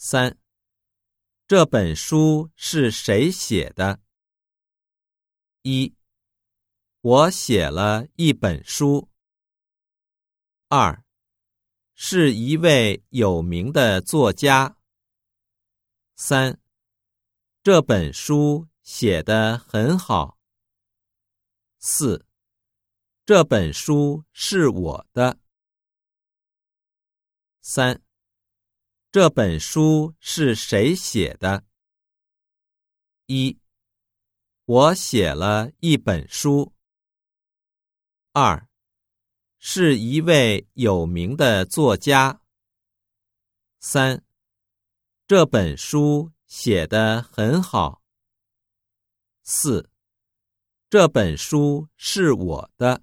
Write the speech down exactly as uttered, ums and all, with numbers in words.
三、这本书是谁写的？一、我写了一本书。二、是一位有名的作家。三、这本书写得很好。四、这本书是我的。三、这本书是谁写的？一、我写了一本书。二、是一位有名的作家。三、这本书写得很好。四、这本书是我的。